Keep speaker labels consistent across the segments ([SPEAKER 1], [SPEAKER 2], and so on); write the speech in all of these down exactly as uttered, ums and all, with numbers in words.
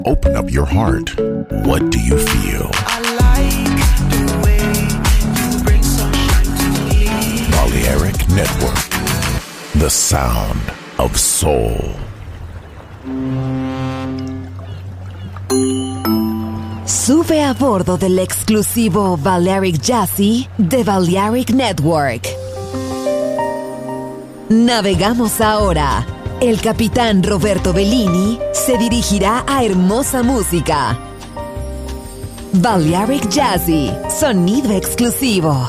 [SPEAKER 1] Open up your heart. What do you feel?
[SPEAKER 2] I like the way you bring sunshine to me.
[SPEAKER 1] Balearic Network. The sound of soul.
[SPEAKER 3] Sube a bordo del exclusivo Balearic Jazzy de Balearic Network. Navegamos ahora. El capitán Roberto Bellini se dirigirá a hermosa música. Balearic Jazzy, sonido exclusivo.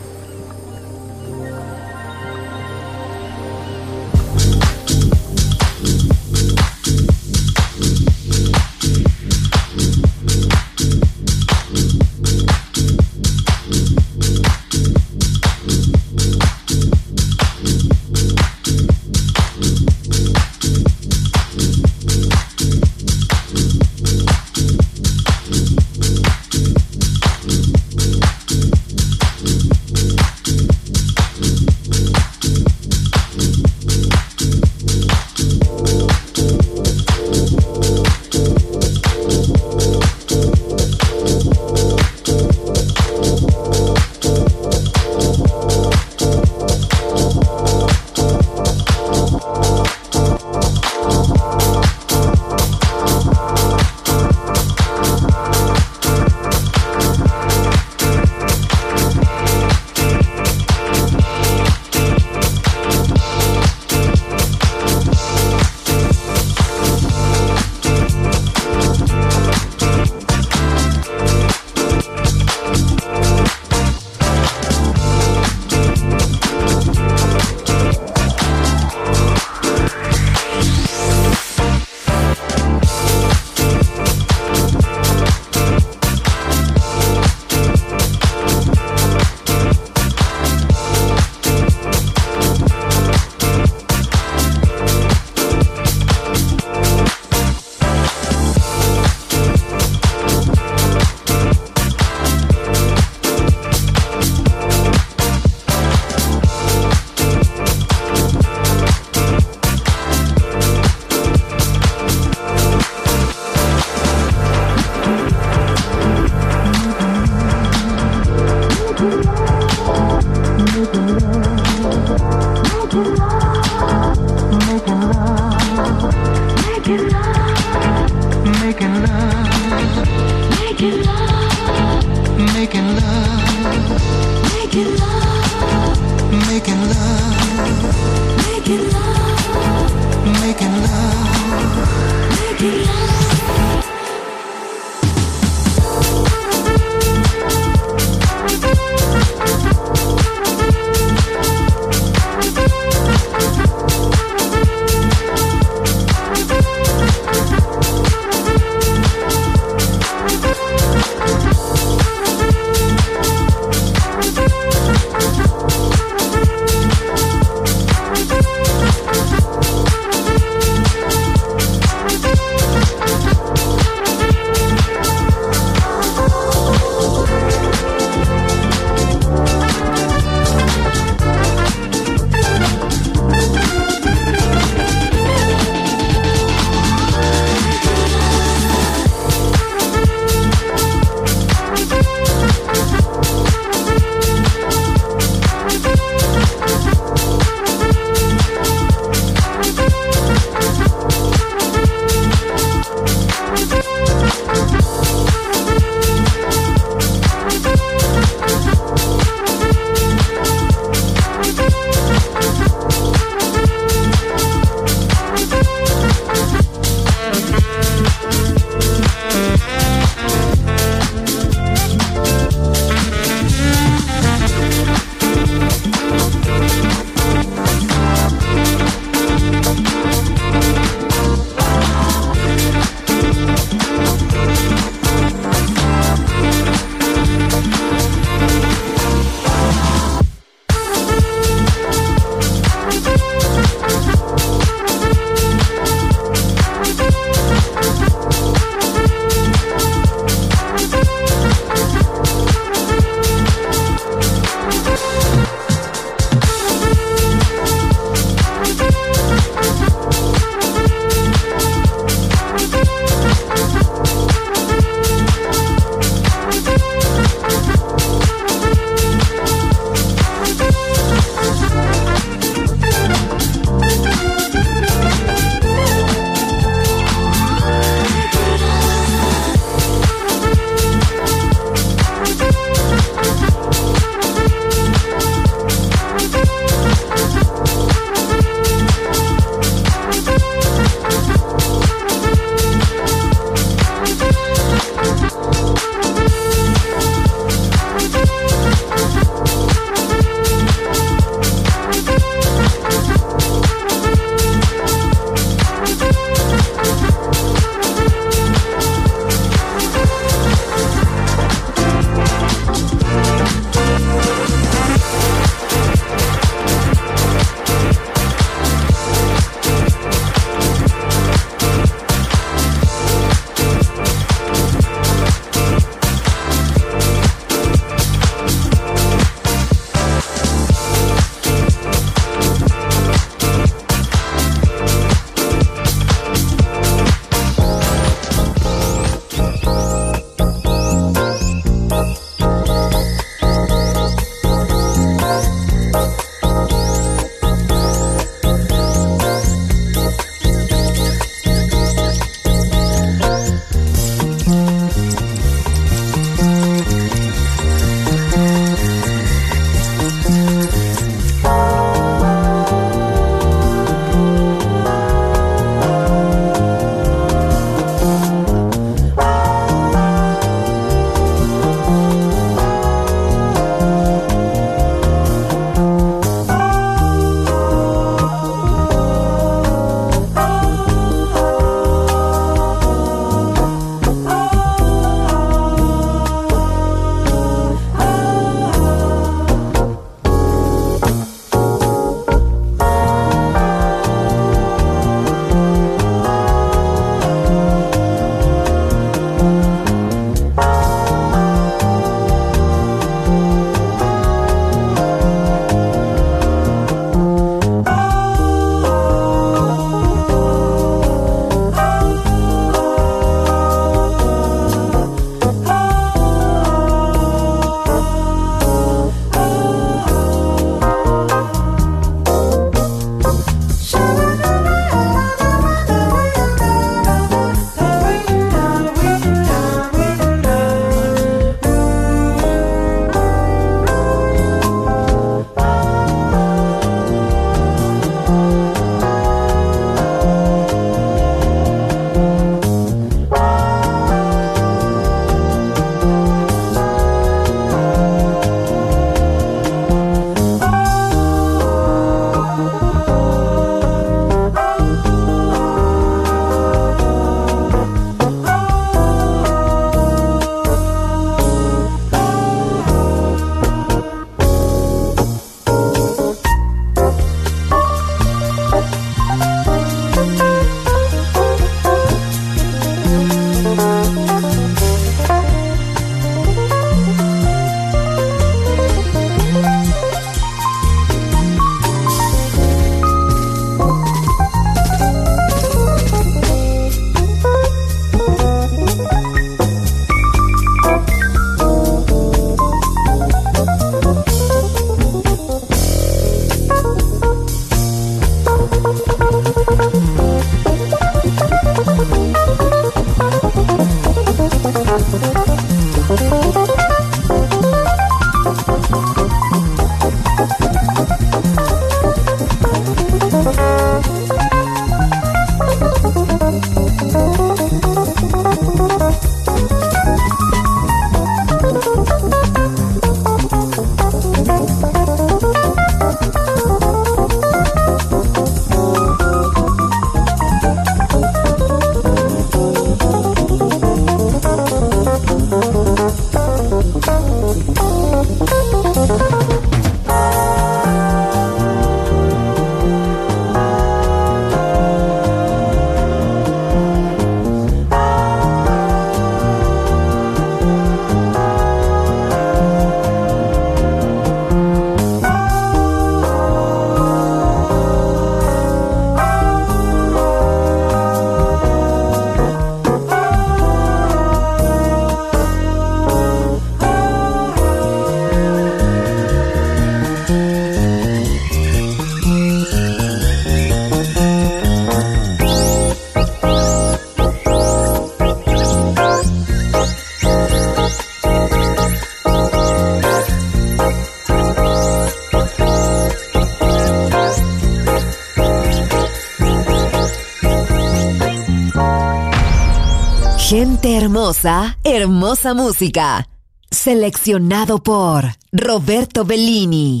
[SPEAKER 3] Gente hermosa, hermosa música. Seleccionado por Roberto Bellini.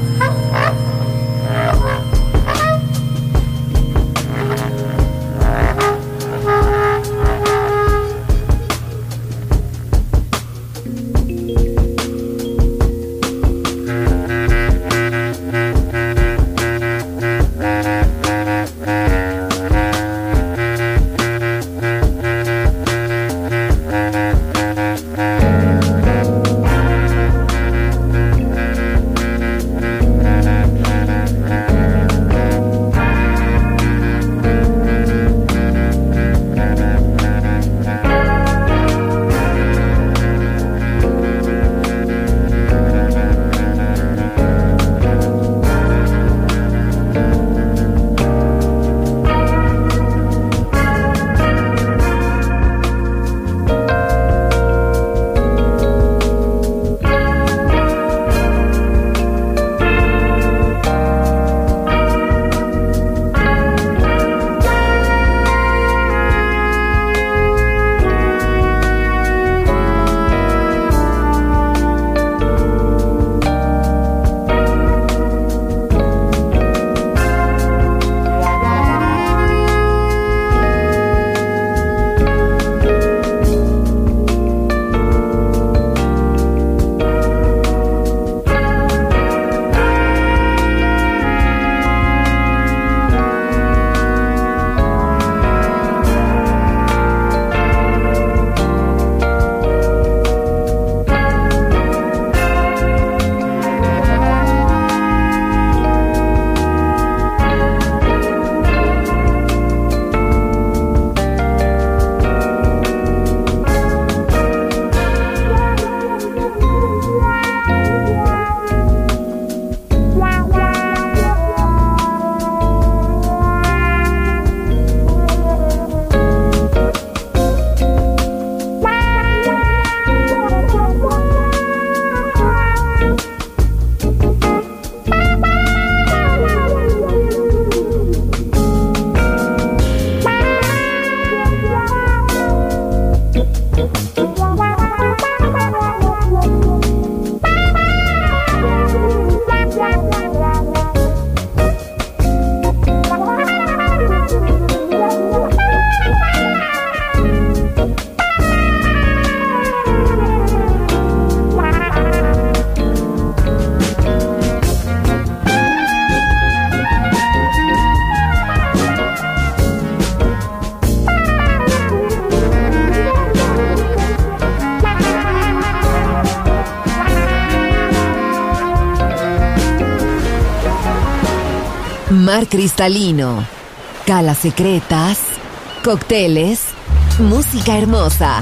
[SPEAKER 3] Mar cristalino, calas secretas, cócteles, música hermosa.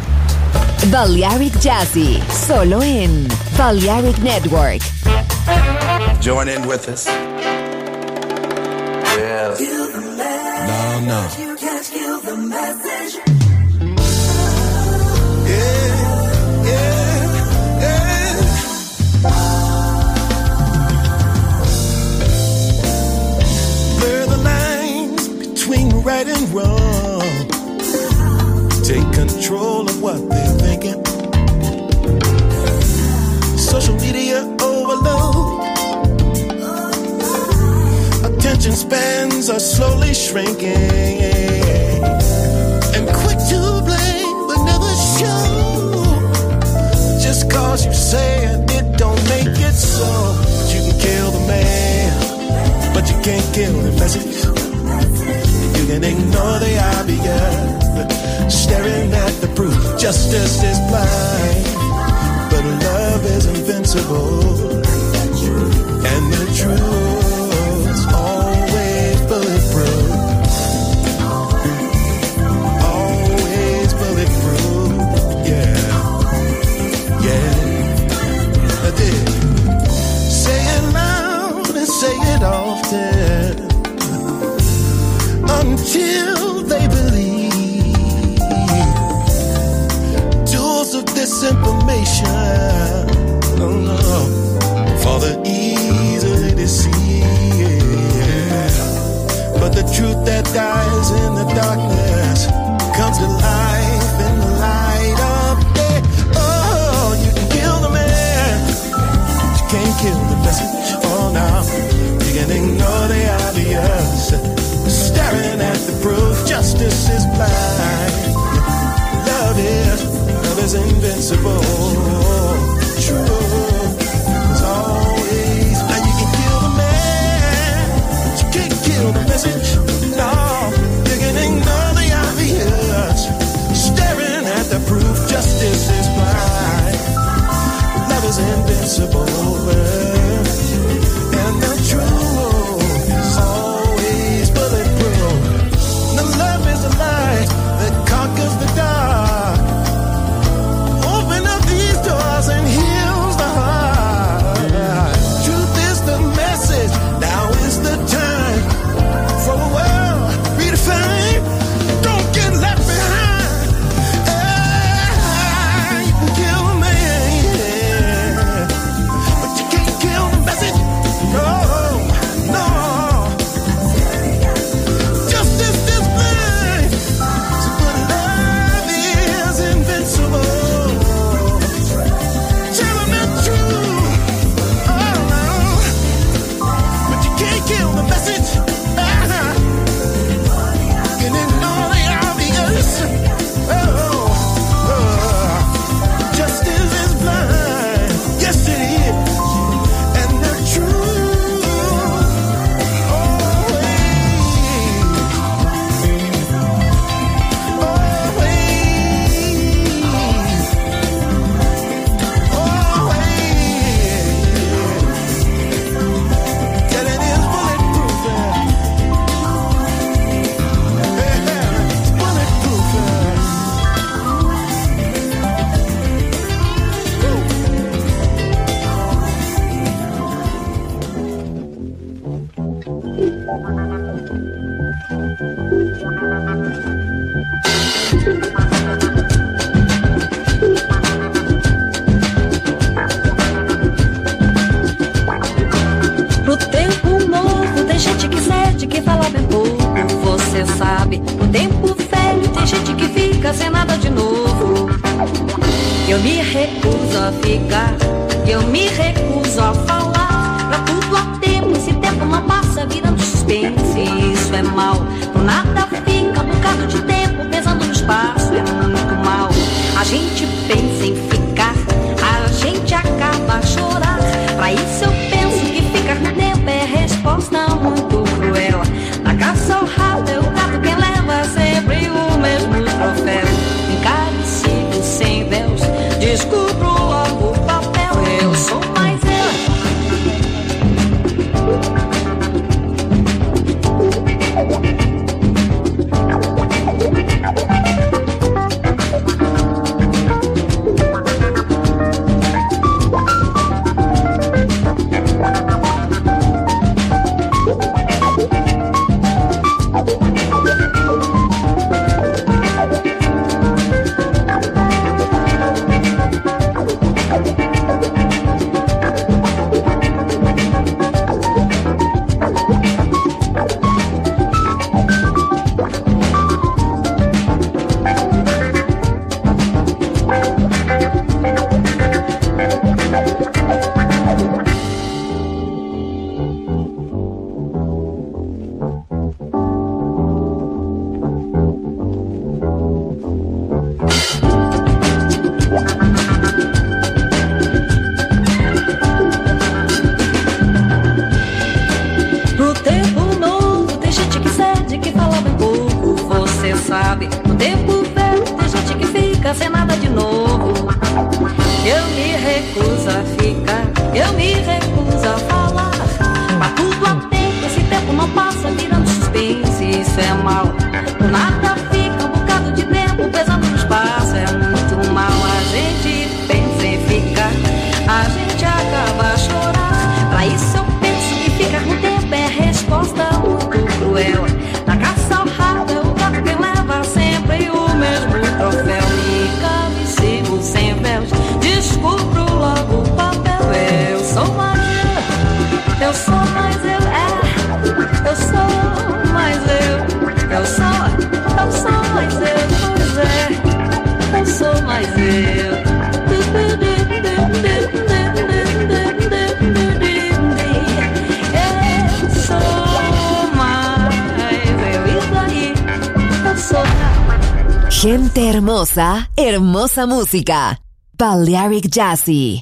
[SPEAKER 3] Balearic Jazzy, solo en Balearic Network.
[SPEAKER 4] Join in with us. Yeah. No, no.
[SPEAKER 2] You can't kill the message.
[SPEAKER 4] Yeah, yeah, yeah. Blur the lines between right and wrong. Take control of what they're thinking. Social media overload. Attention spans are slowly shrinking. And quick to blame but never show. Just cause you say it, it don't make it so. You can kill the man, but you can't kill the message. You can ignore the obvious, staring at the proof. Justice is blind, but love is invincible. And the truth's always bulletproof. Always bulletproof. Yeah. Yeah. I did. Say it loud and say it often, until they believe. Tools of disinformation, oh no, for the easily deceived. But the truth that dies in the darkness comes to life in the light of day. Oh, you can kill the man, but you can't kill the message. Oh invincible. True. As always. Now you can kill the man, but you can't kill the message. No, you can ignore the obvious. Staring at the proof, justice is blind. Love is invincible. And the truth is always bulletproof. The love is the light that conquers the dark. Open up these doors and heals the heart. Truth is the message. Now is the time for a world redefined. Don't get left behind. Ah, you can kill a man, but you can't kill the message. No, no. Justice is blind, but love is invincible. Telling the truth, oh no, but you can't kill the message. Ah, you can ignore the obvious. Oh, oh. Justice is blind, yes it is, and the truth always, always, yeah, it is bulletproof. Yeah, it's bulletproof.
[SPEAKER 5] Pro tempo novo tem gente que cede, que fala bem pouco, você sabe. No tempo velho tem gente que fica sem nada de novo. Eu me recuso a ficar, eu me recuso a falar. Pra tudo há tempo, esse tempo não passa virando suspense. Isso é mal, por nada fica um bocado de tempo pesando no espaço. É muito mal, a gente pensa em ficar, a gente acaba a chorar. Pra isso eu penso que ficar no tempo é resposta muito cruel. Na caça ao rabo é o gato quem leva sempre o mesmo troféu. Encarecido sem Deus, descubro logo o papel. Eu sou mais eu. Pro tempo novo tem gente que cede, que fala bem pouco, você sabe. No tempo velho tem gente que fica sem nada de novo. Eu me recuso a ficar, eu me recuso a falar. Pra tudo há tempo, esse tempo não passa virando suspense. Isso é mal, por nada fica um bocado de tempo pesando no espaço. É muito mal, a gente pensa em ficar, a gente acaba a chorar. Pra isso eu penso que ficar no tempo é resposta muito cruel. Na caça ao rabo é o gato quem leva sempre o mesmo troféu. Me cabecimo sem véus, descubro logo o papel. Eu sou mais eu, eu sou mais eu, é. Eu sou mais eu, eu sou, eu sou mais eu, pois é. Eu sou mais eu.
[SPEAKER 3] Gente hermosa, hermosa música. Balearic Jazzy.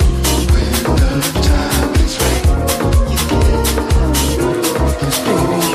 [SPEAKER 4] Baby,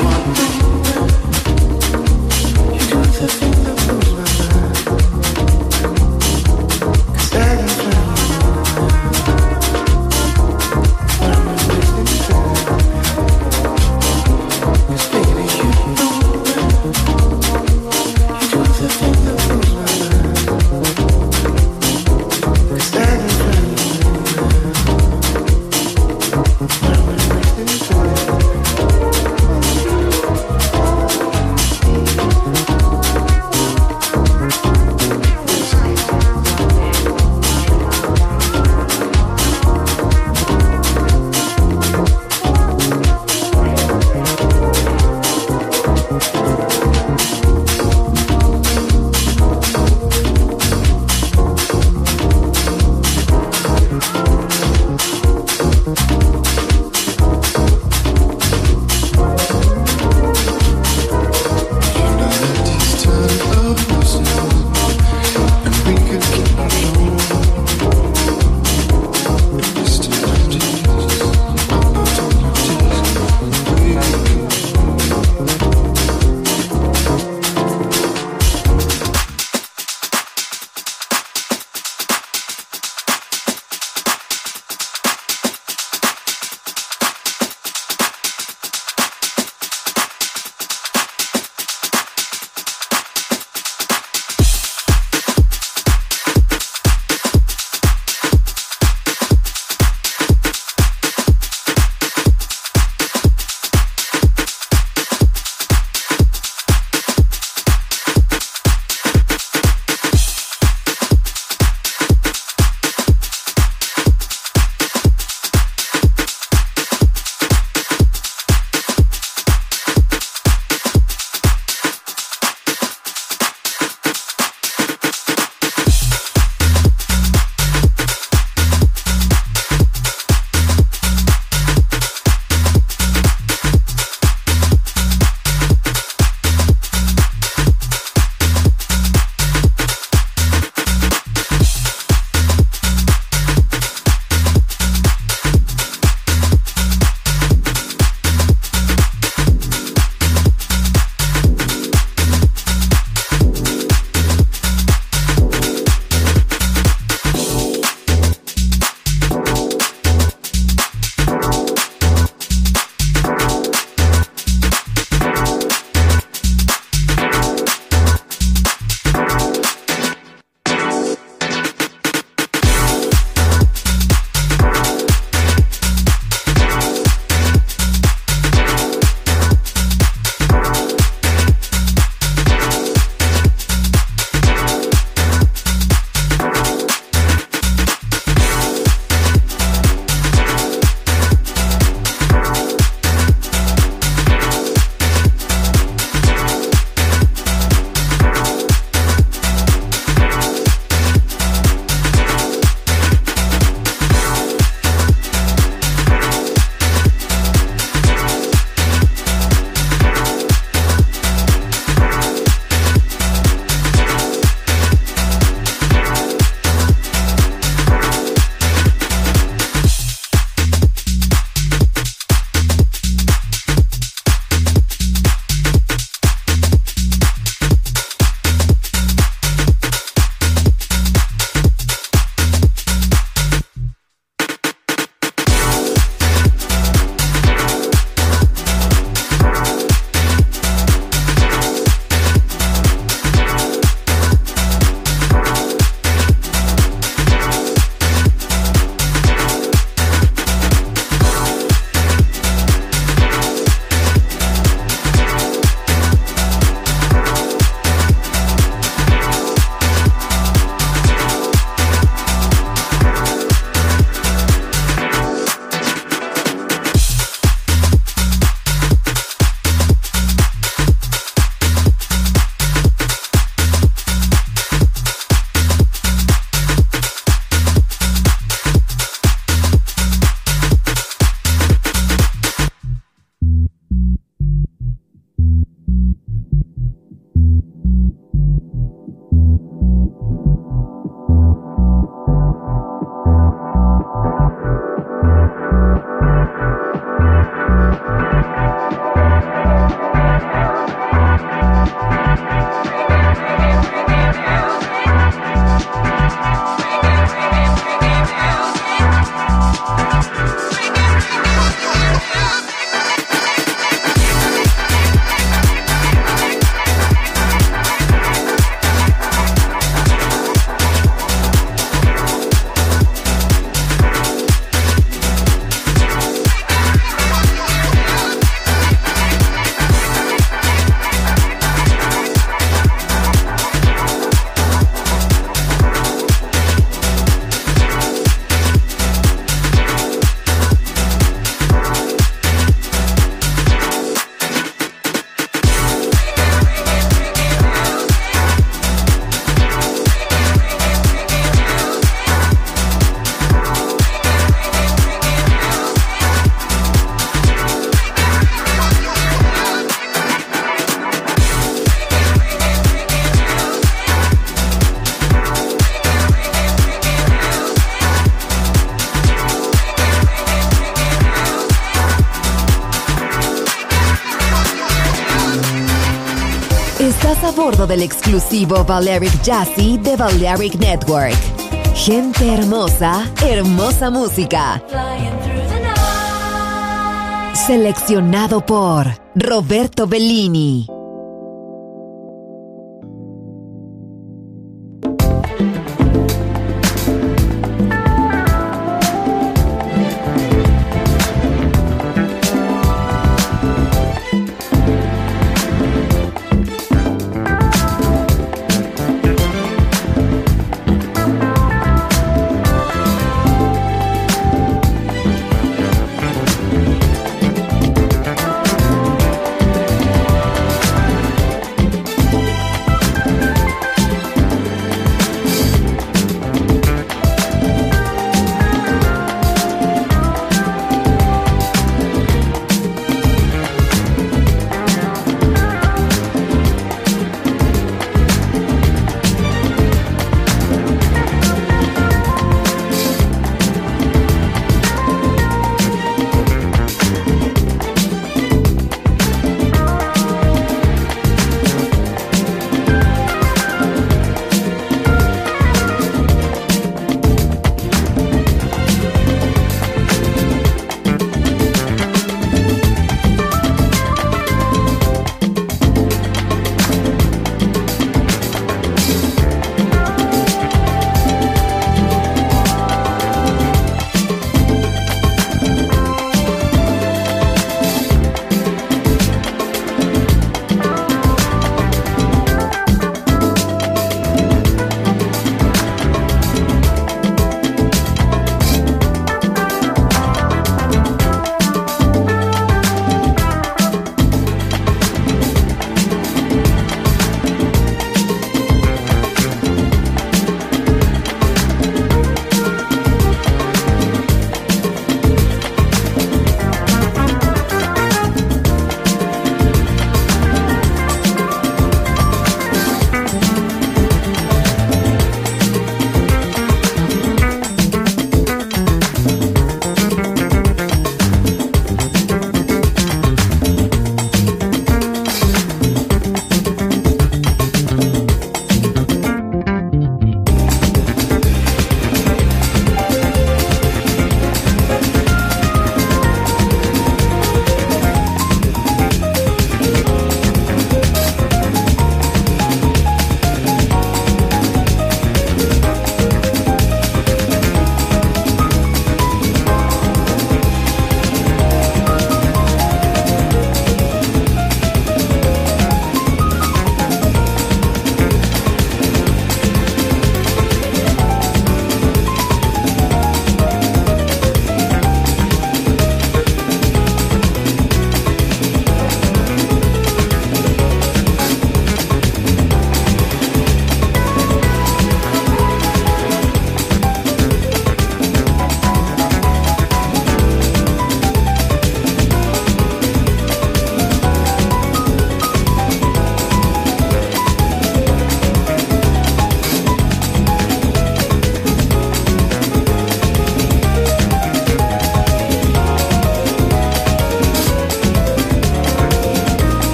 [SPEAKER 3] Estás a bordo del exclusivo Balearic Jazzy de Balearic Network. Gente hermosa, hermosa música. Seleccionado por Roberto Bellini.
[SPEAKER 2] Thank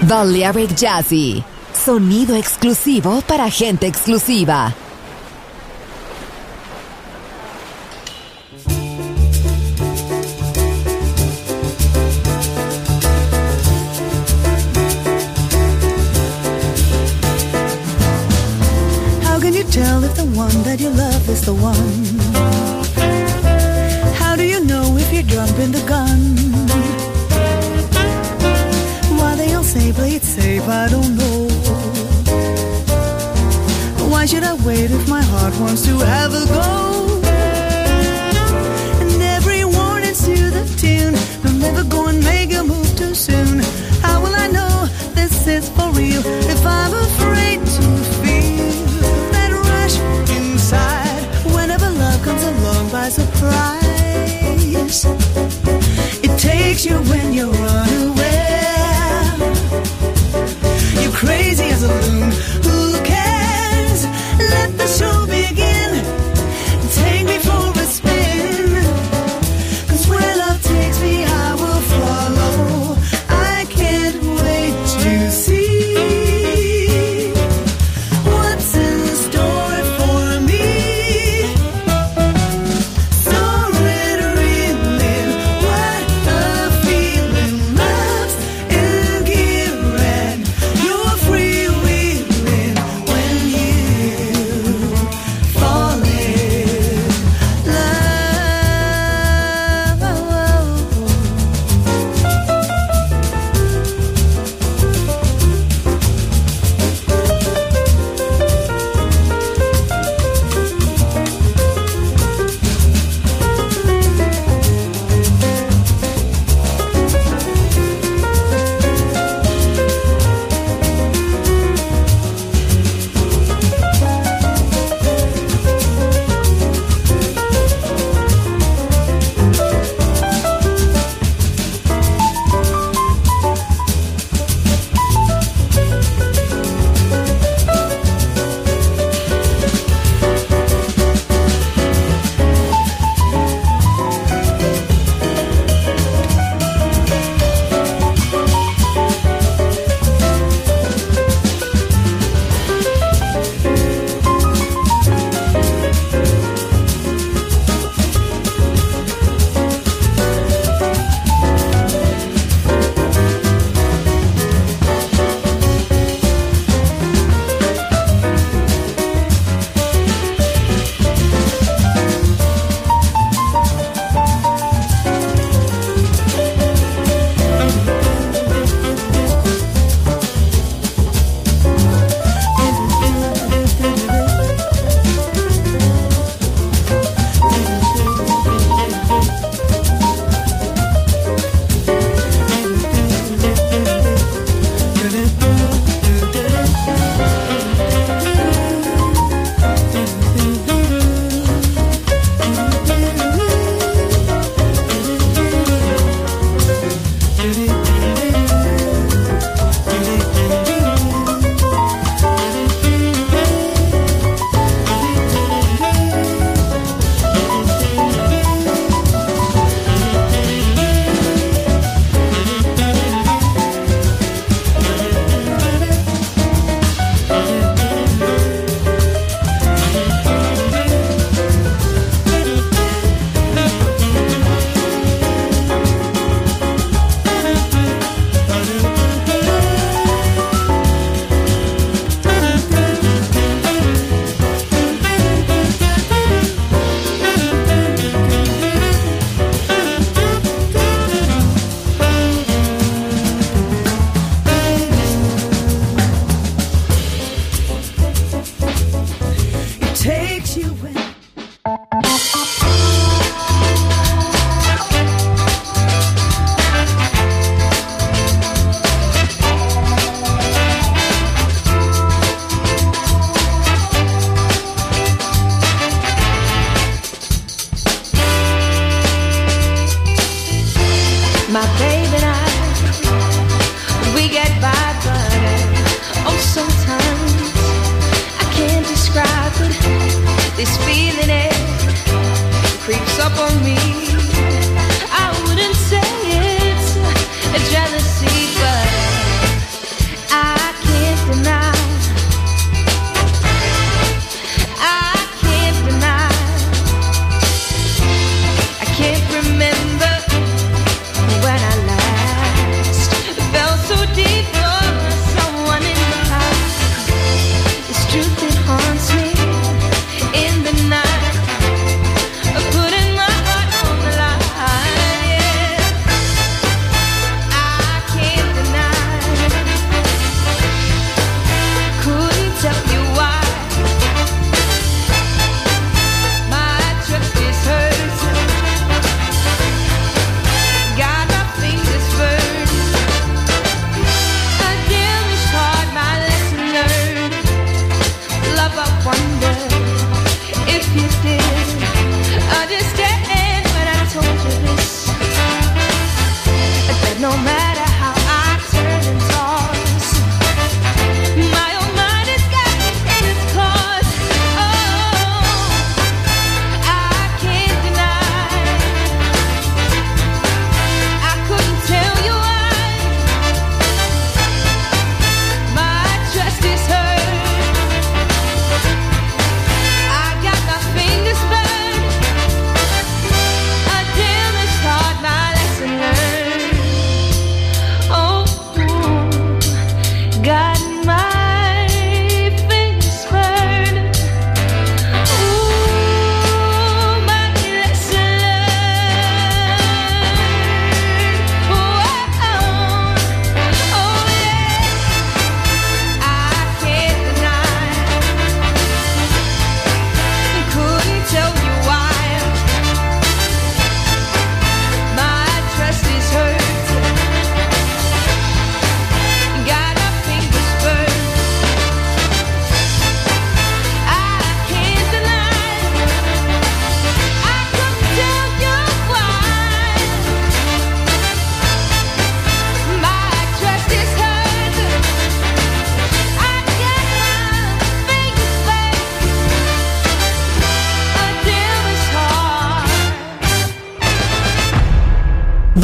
[SPEAKER 3] Balearic Jazzy, sonido exclusivo para gente exclusiva.
[SPEAKER 6] How can you tell if the one that you love is the one? How do you know if you're jumping the gun? Why they all say play it safe, I don't know. Why should I wait if my heart wants to have a go? And every warning's to the tune, don't ever go and make a move too soon. How will I know this is for real if I'm afraid to feel that rush inside whenever love comes along by surprise? It takes you when you're unaware. You're crazy as a loon. Who cares? Let the show begin. Take me for a spin. 'Cause where love takes me, I will follow. I can't wait to see what's in store for me. So red, reeling, what a feeling. Love's in gear and you're freewheeling.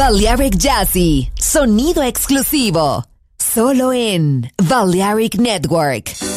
[SPEAKER 3] Balearic Jazzy, sonido exclusivo, solo en Balearic Network.